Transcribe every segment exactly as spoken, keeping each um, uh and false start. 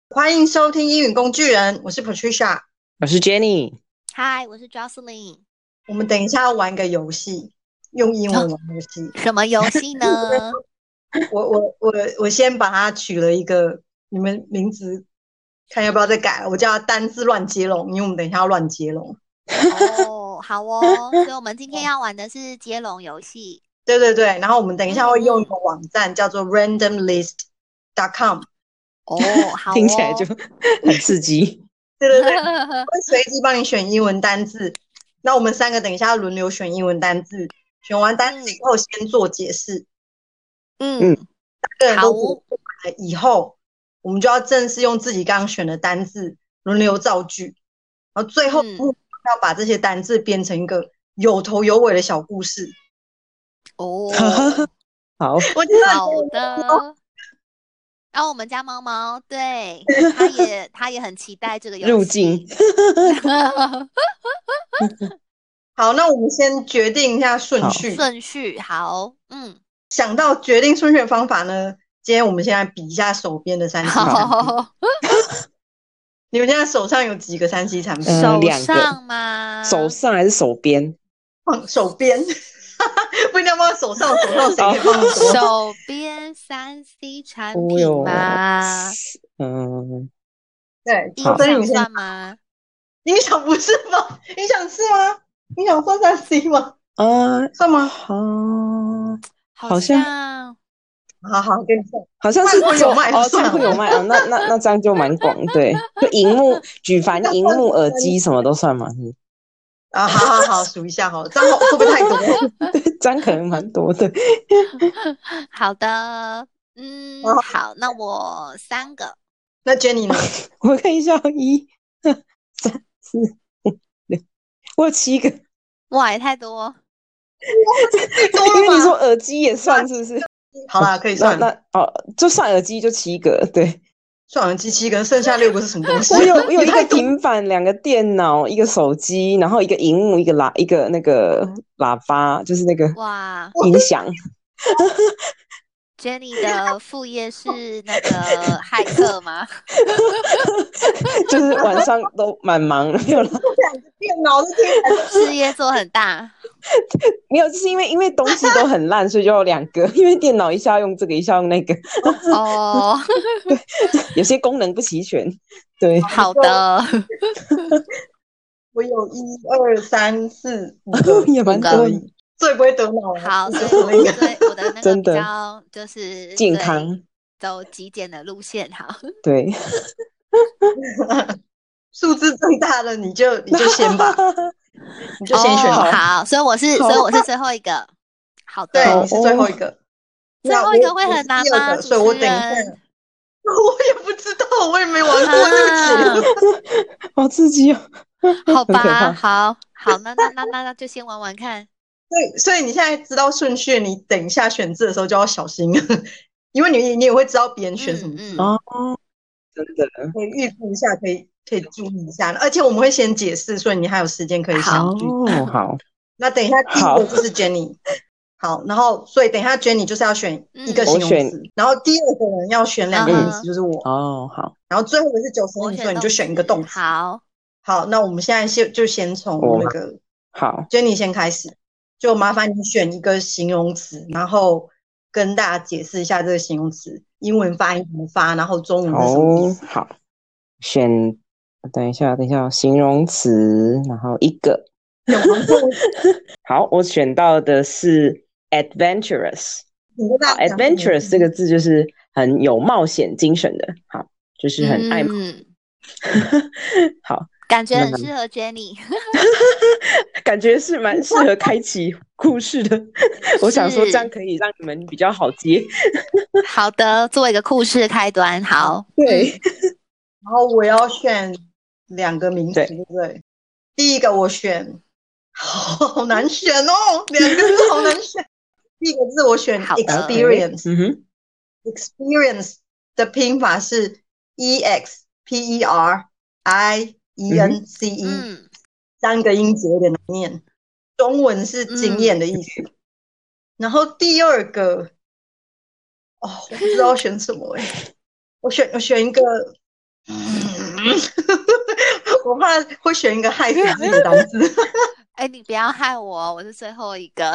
歡迎收聽英語工具人，我是 Patricia， 我是 Jenny， 嗨，我是 Jocelyn。 我們等一下要玩個遊戲，用英文玩遊戲、 哦、什麼遊戲呢？ 我我我我先把它取了一個，你們名字看要不要再改，我叫它單字亂接龍，因為我們等一下要亂接龍。 哦，好哦，所以我們今天要玩的是接龍遊戲。 對對对，然後我們等一下會用一個網站、嗯、叫做 random list dot com。 哦，好哦， 聽起來就很刺激。 對對對，我會隨機幫你選英文單字，那我們三個等一下要輪流選英文單字，選完單字以後先做解釋。 嗯， 三個人都做完了以後，我們就要正式用自己剛剛選的單字輪流造句，然後最後要把這些單字編成一個有頭有尾的小故事。 哦， 好， 我覺得好的。然後我們家貓貓，對，它也它也很期待這個遊戲入境。 好，那我們先決定一下順序。 順序好，嗯， 想到決定順序的方法呢，今天我們現在比一下手邊的三 C 產品。你們現在手上有幾個三 C 產品？ 手上嗎？ 手上還是手邊？ 放手邊。不一定要放手上，手上誰可以放手？ 手邊三 C 產品嗎？ 嗯， 對， 音響算嗎？ 音響不是吧？音響是嗎？音響算三 C 嗎？ 啊， 算嗎？ 啊， 好像， 好好跟你說， 好像是有賣哦，算有賣啊，那那那這樣就蠻廣，對，就熒幕、舉凡熒幕、耳機什麼都算嘛，是。 啊，好好好，數一下好了，這樣會不會太多？ 這樣可能蠻多的。 好的，嗯，好，那我三個。 那 Jenny 呢？ 我看一下，一、二、三、四、五、六，我有七個。 哇，也太多。 多因為你說耳機也算，是不是？ 好啦，可以算。 那那哦，就算耳機就七個，對。 算耳機七個，剩下六個是什麼東西？ 我有我有一個平板，兩個電腦，一個手機，然後一個熒幕，一個喇一個那個喇叭，就是那個哇音響。 Jenny 的副業是那個駭客嗎？ 就是晚上都蠻忙的，沒有了。兩個電腦是聽事業做很大。 沒有，就是因為因為東西都很爛，所以就有兩個。因為電腦一下用這個，一下用那個。 哦， 對，有些功能不齊全。對， 好的。 我有一二三四五個， 也蠻多。 最不會得腦。 好，所以我對我的那個比較就是健康， 走極簡的路線。好， 對。 數字最大的你就你就先吧。你就先選、 哦、好，所以我是所以我是最後一個。好的， 對，你是最後一個。 最後一個會很難嗎？ 所以我等一下，我也不知道，我也沒玩過這個節目， 好刺激哦！ 好吧，好好，那那那那那就先玩玩看。 對，所以你現在知道順序，你等一下選字的時候就要小心，因為你你也會知道別人選什麼字哦、嗯嗯，真的可以預估一下，可以。可以注意一下，而且我們會先解釋，所以你還有時間可以想句。 哦，好。 那等一下第一個就是 Jenny， 好，好，然後所以等一下 Jenny 就是要選一個形容詞、嗯，然後第二個人要選兩個名詞，就是我。 哦，好。 然後最後一個是九十五歲，你就選一個動詞。 好， 好，那我們現在先就先從那個、哦、 好 Jenny 先開始，就麻煩你選一個形容詞，然後跟大家解釋一下這個形容詞英文發音怎麼發，然後中文是什麼意思。 好，好選。等一下，等一下，形容詞，然後一個。好，我選到的是 adventurous。好 adventurous 這個字就是很有冒險精神的，好，就是很愛冒險。嗯、好， 感覺很適合 Jenny。 感覺是蠻適合開啟故事的。我想說這樣可以讓你們比較好接。 好的，做一個故事的開端。好， 對。 嗯、然後我要選兩個名詞，對不對？第一個我選，好，好難選哦，兩個字好難選。第一個字我選 experience， 嗯哼 ，experience 的拼法是 e x p e r i e n c e，、嗯、三個音節有點難念，中文是經驗的意思。嗯、然後第二個，哦，我不知道選什麼哎，我選我選一個。 我怕會選一個害死自己的單字。 哎、欸，你不要害我，我是最後一個。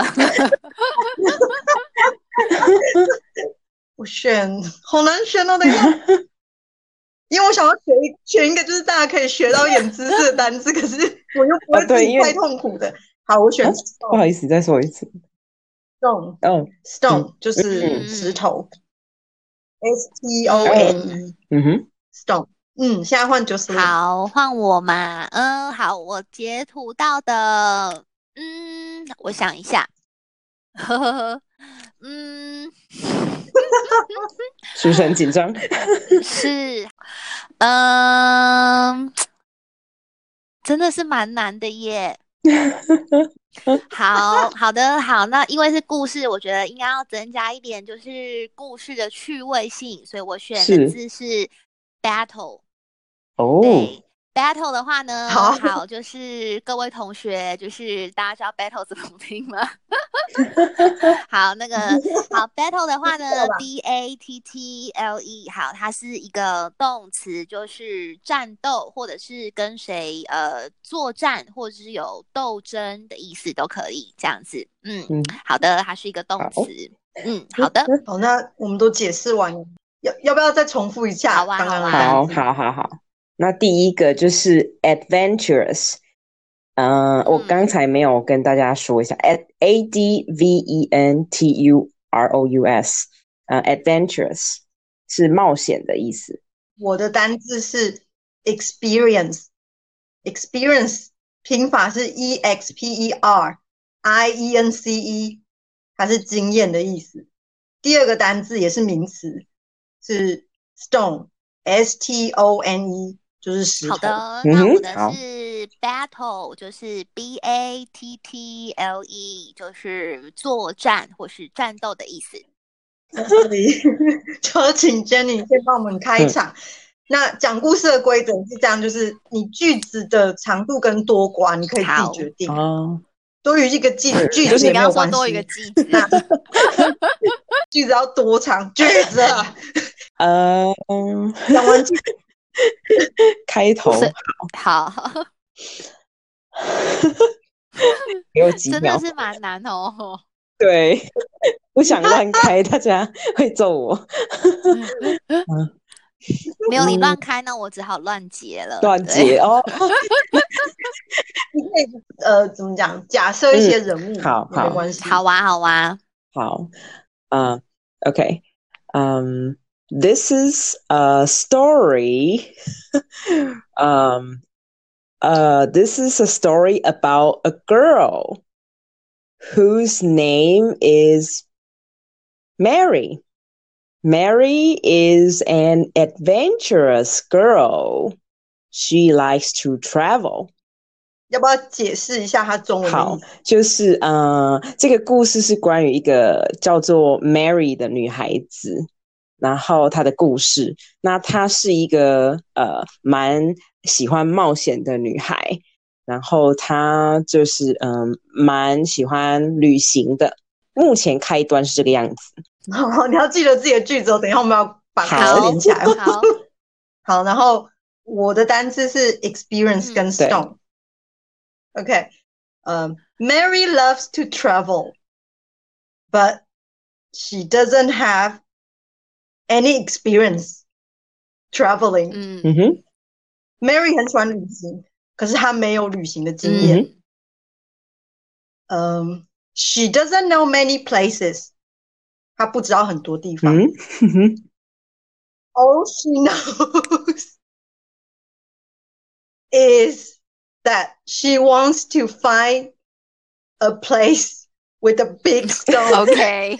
我選，好難選哦，等一下，因為我想要選一選一個就是大家可以學到一點知識的單字，可是我又不會自己太痛苦的。啊、好，我選、啊。 不好意思，再說一次。 stone， 哦 ，stone、嗯、就是石頭、嗯、，S T O N E， 嗯哼 ，stone。嗯，現在換九十。 好，換我嘛。嗯，好，我截圖到的，嗯，我想一下，呵呵呵，嗯， 是不是很緊張？ 是，嗯，真的是蠻難的耶。好好的好，那因為是故事，我覺得應該要增加一點，就是故事的趣味性，所以我選的字是 battle。 哦， 對 ，battle 的話呢， 好， 好，就是各位同學，就是大家知道 battle 怎麼拼嗎？好，那個好 battle 的話呢，B A T T L E， 好，它是一個動詞，就是戰鬥或者是跟誰呃作戰，或者是有鬥爭的意思都可以，這樣子。嗯，嗯好的，它是一個動詞。嗯，好的。 好，那我們都解釋完了，要要不要再重複一下？ 好啊， 剛剛好啊，好，好，好，好。那第一個就是 adventurous， 呃、嗯，我剛才沒有跟大家說一下 ，A D V E N T U R O U S， 呃 ，adventurous 是冒險的意思。 我的單字是 experience，experience 拼法是 E X P E R I E N C E， 它是經驗的意思。第二個單字也是名詞，是 stone，S T O N E。就是石頭。 好的，那我的是 battle，、嗯、就是 B A T T L E， 就是作戰或是戰鬥的意思。 在這裡就請 Jenny 先幫我們開場。嗯、那講故事的規則是這樣，就是你句子的長度跟多寡，你可以自己決定。哦，多於一個句子，句子也沒有關係。你剛剛說多一個句子，那句子要多長？句子啊，呃，講完句。 開頭好，好有幾秒， 真的是蠻難哦。 對，不想亂開，大家會揍我。嗯、 沒有你亂開，那我只好亂結了。 亂結哦。 你可以呃，怎麼講？假設一些人物，嗯、 好好， 沒關係。 好玩，好玩。 好，嗯、uh, ，OK，嗯、um,。This is a story. um, uh, this is a story about a girl whose name is Mary. Mary is an adventurous girl. She likes to travel. 要不要解釋一下它中文的意思？ 好，就是呃，這個故事是關於一個叫做 Mary 的女孩子。然後她的故事，那她是一個呃蠻喜歡冒險的女孩，然後她就是嗯、呃、蠻喜歡旅行的。目前開端是這個樣子。 好，你要記得自己的句子哦。等一下我們要把它連起來。 好， 好，然後我的單字是 experience 跟 stone。嗯、OK， 呃、um, Mary loves to travel, but she doesn't have any experience traveling. 嗯哼 Mary 很喜歡旅行，可是她沒有旅行的經驗。嗯、um, She doesn't know many places. 她不知道很多地方。 嗯哼 All she knows is that she wants to find a place with a big stone. OK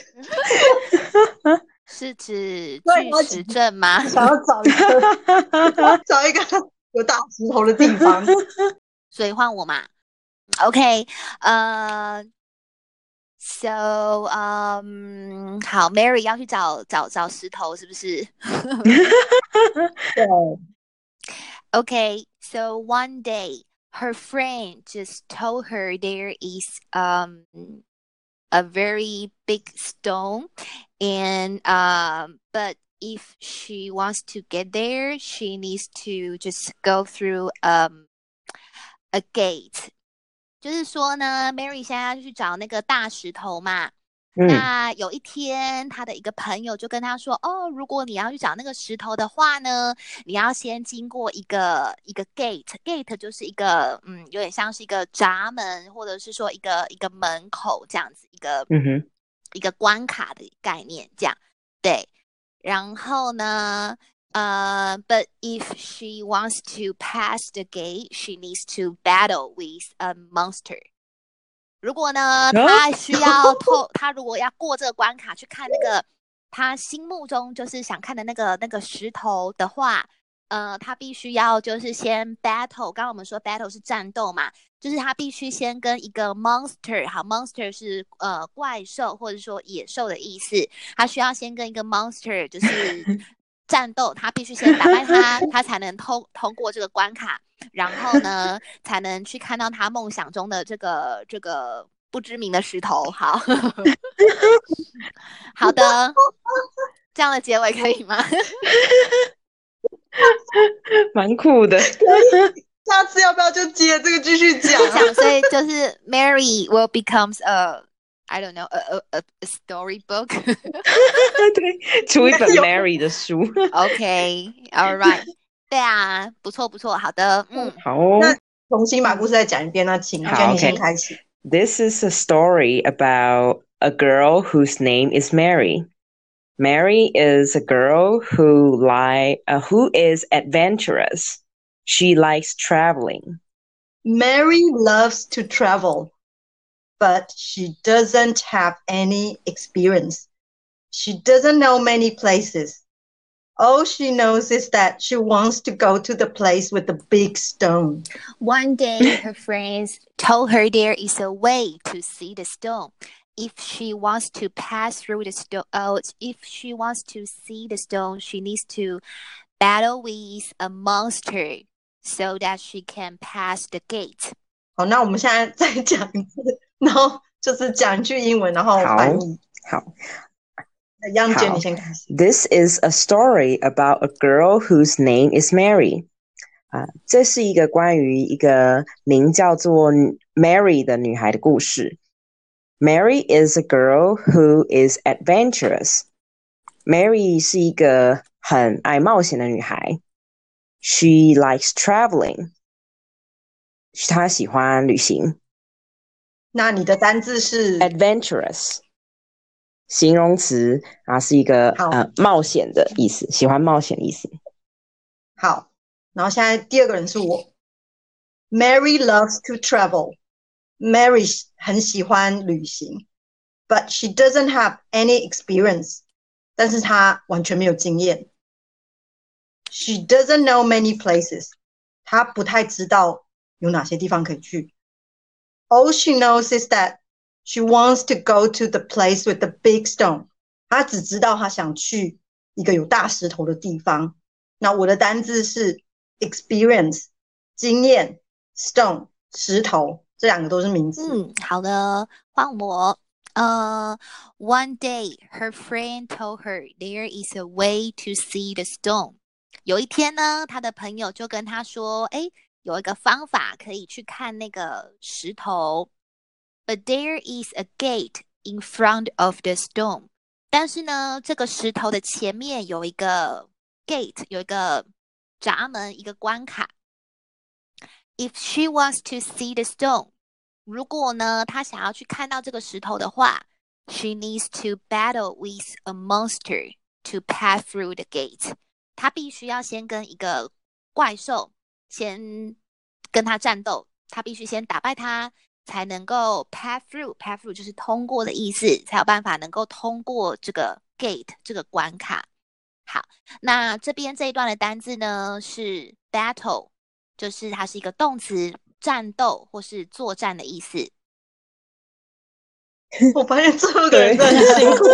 是指巨石陣嗎？ 想要找一個找一個有大石頭的地方， 所以換我嘛。OK， 呃、uh, ，So， 嗯、um, 好 ，Mary 要去找找找石頭，是不是？ 對。 Okay, so one day her friend just told her there is um a very big stone, and um but if she wants to get there, she needs to just go through um a gate。就是说呢 ，Mary 现在要去找那個大石頭嘛。嗯、那有一天，他的一個朋友就跟他說：“哦，如果你要去找那個石頭的話呢，你要先經過一個一個 gate，gate 就是一個嗯，有點像是一個閘門，或者是說一個一個門口這樣子，一個嗯哼，一個關卡的概念這樣。對，然後呢？” Uh, but if she wants to pass the gate, she needs to battle with a monster. 如果呢，她需要透，她如果要過這個關卡去看那個她心目中就是想看的那個那個石頭的話，呃，她必須要就是先 battle。剛剛我們說 battle 是戰鬥嘛，就是她必須先跟一個 monster， 好 ，monster 是呃怪獸或者說野獸的意思，她需要先跟一個 monster 就是。戰鬥，他必須先打敗他，他才能通通過這個關卡，然後呢，才能去看到他夢想中的這個這個不知名的石頭。好，好的，這樣的結尾可以嗎？ 蠻酷的。 下次要不要就接這個繼續講？ 講，所以就是 Mary will becomes a I don't know a a a storybook 對，出一本 Mary 的書。 OK, all right， 對啊，不錯不錯，好的，嗯， 好哦。 那重新把故事再講一遍，那請Jenny先開始。 This is a story about a girl whose name is Mary. Mary is a girl who like uh, who is adventurous. She likes traveling. Mary loves to travel.But she doesn't have any experience. She doesn't know many places. All she knows is that she wants to go to the place with the big stone. One day, her friends told her there is a way to see the stone. If she wants to pass through the stone, oh, if she wants to see the stone, she needs to battle with a monster so that she can pass the gate. 好，那我們現在再講一次。然後就是講一句英文，然後翻譯。 好，好。 楊姐，你先開始。 This is a story about a girl whose name is Mary. 啊，這是一個關於一個名叫做 Mary 的女孩的故事。Mary is a girl who is adventurous. Mary 是一個很愛冒險的女孩。She likes traveling. 她喜歡旅行。 那你的單字是 adventurous， 形容詞啊，是一個呃冒險的意思，喜歡冒險的意思。 好，然後現在第二個人是我。Mary loves to travel. Mary 很喜歡旅行 ，but she doesn't have any experience. 但是她完全沒有經驗。She doesn't know many places. 她不太知道有哪些地方可以去。All she knows is that she wants to go to the place with the big stone. 她只知道她想去一個有大石頭的地方。那我的單字是 experience 經驗 stone 石頭，這兩個都是名詞。 嗯，好的，換我。呃、uh, One day, her friend told her there is a way to see the stone. 有一天呢，她的朋友就跟她說，哎。有一個方法可以去看那個石頭 ，But there is a gate in front of the stone. 但是呢，這個石頭的前面有一個 gate， 有一個閘門，一個關卡。If she wants to see the stone， 如果呢，她想要去看到這個石頭的話 ，she needs to battle with a monster to pass through the gate. 她必須要先跟一個怪獸。先跟他戰鬥，他必須先打敗他，才能夠 pass through。pass through 就是通過的意思，才有辦法能夠通過這個 gate 這個關卡。好，那這邊這一段的單字呢是 battle， 就是它是一個動詞，戰鬥或是作戰的意思。 我發現最後的人真的很辛苦。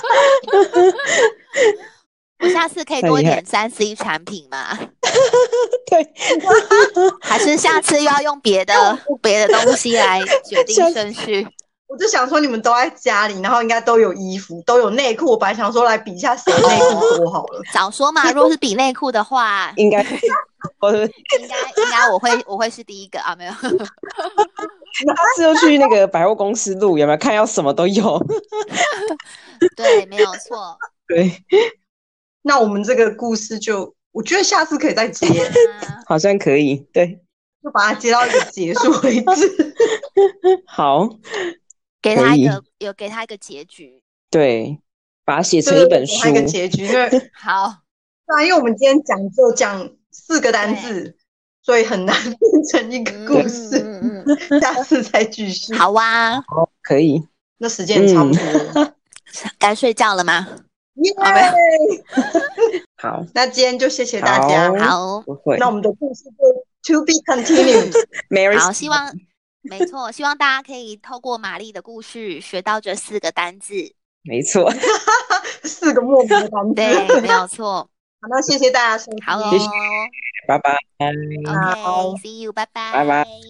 我下次可以多一點三 C 產品嗎？ 對， 還是下次又要用別的別的東西來決定順序？ 我就想說你們都在家裡，然後應該都有衣服，都有內褲。我本來想說來比一下誰內褲多好了。 早說嘛，如果是比內褲的話， 應該我應該應該我會我會是第一個啊，沒有。 下次又去那個百貨公司錄，有沒有看要什麼都有？ 對，沒有錯。 對， 那我們這個故事就，我覺得下次可以再接， 好像可以，對， 就把它接到一個結束為止。 好， 給他一個有給他一個結局， 對，把它寫成一本書， 給他一個結局，因為好， 對啊，因為我們今天講就講四個單字，所以很難變成一個故事。嗯嗯嗯、下次再繼續。 好啊， 好，可以。 那時間差不多了， 該、嗯、睡覺了嗎？ 耶、 yeah! 好， 那今天就謝謝大家。 好， 不會。 那我們的故事就 to be continued。 好，希望沒錯，希望大家可以透過瑪麗的故事學到這四個單字。 沒錯， 四個莫名的單字， 對，沒有錯。 好，那謝謝大家收聽， 好哦， 拜拜。 OK，see you，拜拜， 拜拜。